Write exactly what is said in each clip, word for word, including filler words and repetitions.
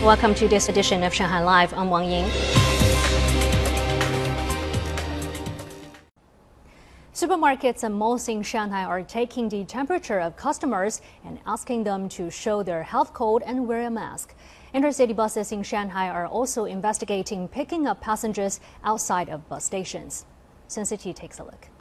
Welcome to this edition of Shanghai Live. I'm Wang Ying. Supermarkets and malls in Shanghai are taking the temperature of customers and asking them to show their health code and wear a mask. Intercity buses in Shanghai are also investigating picking up passengers outside of bus stations. Sun City takes a look.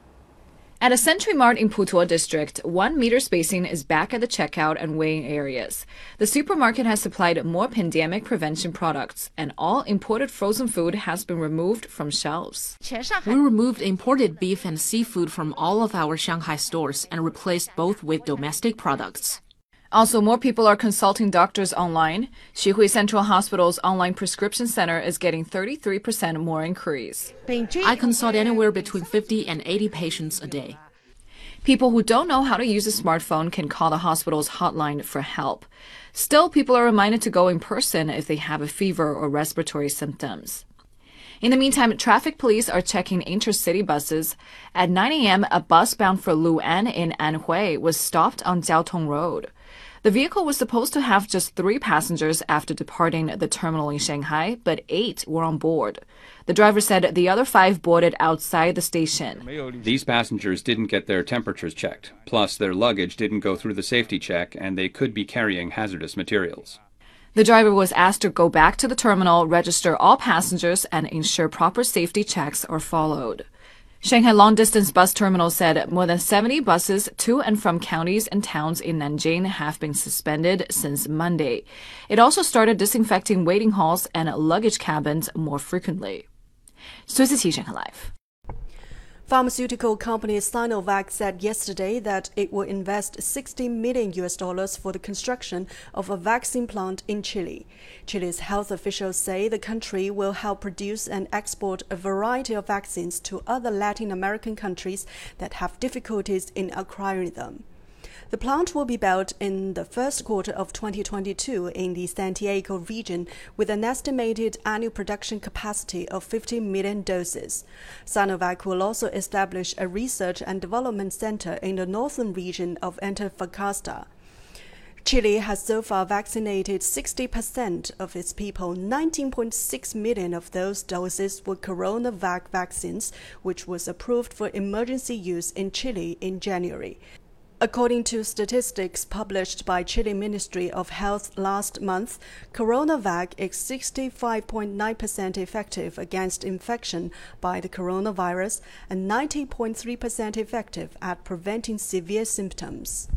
At a Century Mart in Putuo District, one meter spacing is back at the checkout and weighing areas. The supermarket has supplied more pandemic prevention products, and all imported frozen food has been removed from shelves. We removed imported beef and seafood from all of our Shanghai stores and replaced both with domestic products. Also, more people are consulting doctors online. Xuhui Central Hospital's online prescription center is getting thirty-three percent more inquiries. I consult anywhere between fifty and eighty patients a day. People who don't know how to use a smartphone can call the hospital's hotline for help. Still, people are reminded to go in person if they have a fever or respiratory symptoms. In the meantime, traffic police are checking intercity buses. At nine a m, a bus bound for Lu'an in Anhui was stopped on Jiaotong Road. The vehicle was supposed to have just three passengers after departing the terminal in Shanghai, but eight were on board. The driver said the other five boarded outside the station. These passengers didn't get their temperatures checked. Plus, their luggage didn't go through the safety check, and they could be carrying hazardous materials. The driver was asked to go back to the terminal, register all passengers, and ensure proper safety checks are followed. Shanghai long-distance bus terminal said more than seventy buses to and from counties and towns in Nanjing have been suspended since Monday. It also started disinfecting waiting halls and luggage cabins more frequently. Sun City, Shanghai Live. Pharmaceutical company Sinovac said yesterday that it will invest sixty million U S dollars for the construction of a vaccine plant in Chile. Chile's health officials say the country will help produce and export a variety of vaccines to other Latin American countries that have difficulties in acquiring them. The plant will be built in the first quarter of twenty twenty-two in the Santiago region with an estimated annual production capacity of fifty million doses. Sinovac will also establish a research and development center in the northern region of Antofagasta. Chile has so far vaccinated sixty percent of its people. nineteen point six million of those doses were CoronaVac vaccines, which was approved for emergency use in Chile in January. According to statistics published by Chile Ministry of Health last month, CoronaVac is sixty-five point nine percent effective against infection by the coronavirus and ninety point three percent effective at preventing severe symptoms.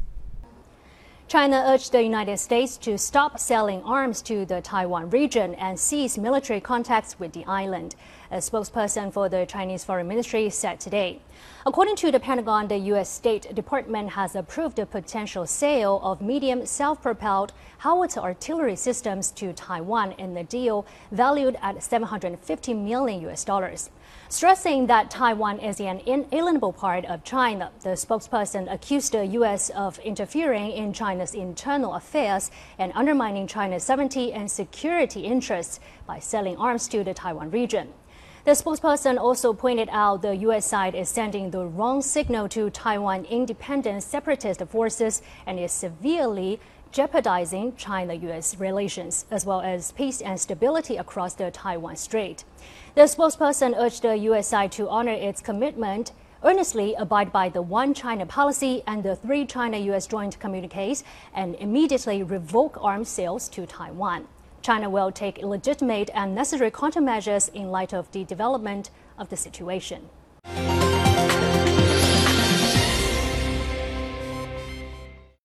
China urged the United States to stop selling arms to the Taiwan region and cease military contacts with the island, a spokesperson for the Chinese Foreign Ministry said today. According to the Pentagon, the U S State Department has approved a potential sale of medium self-propelled howitzer artillery systems to Taiwan in the deal valued at seven hundred fifty million U S dollars. Stressing that Taiwan is an inalienable part of China, the spokesperson accused the U S of interfering in China's internal affairs and undermining China's sovereignty and security interests by selling arms to the Taiwan region. The spokesperson also pointed out the U S side is sending the wrong signal to Taiwan independent separatist forces and is severely jeopardizing China-U S relations, as well as peace and stability across the Taiwan Strait. The spokesperson urged the U S side to honor its commitment, earnestly abide by the One China policy and the three China-U S joint communiques, and immediately revoke arms sales to Taiwan. China will take legitimate and necessary countermeasures in light of the development of the situation.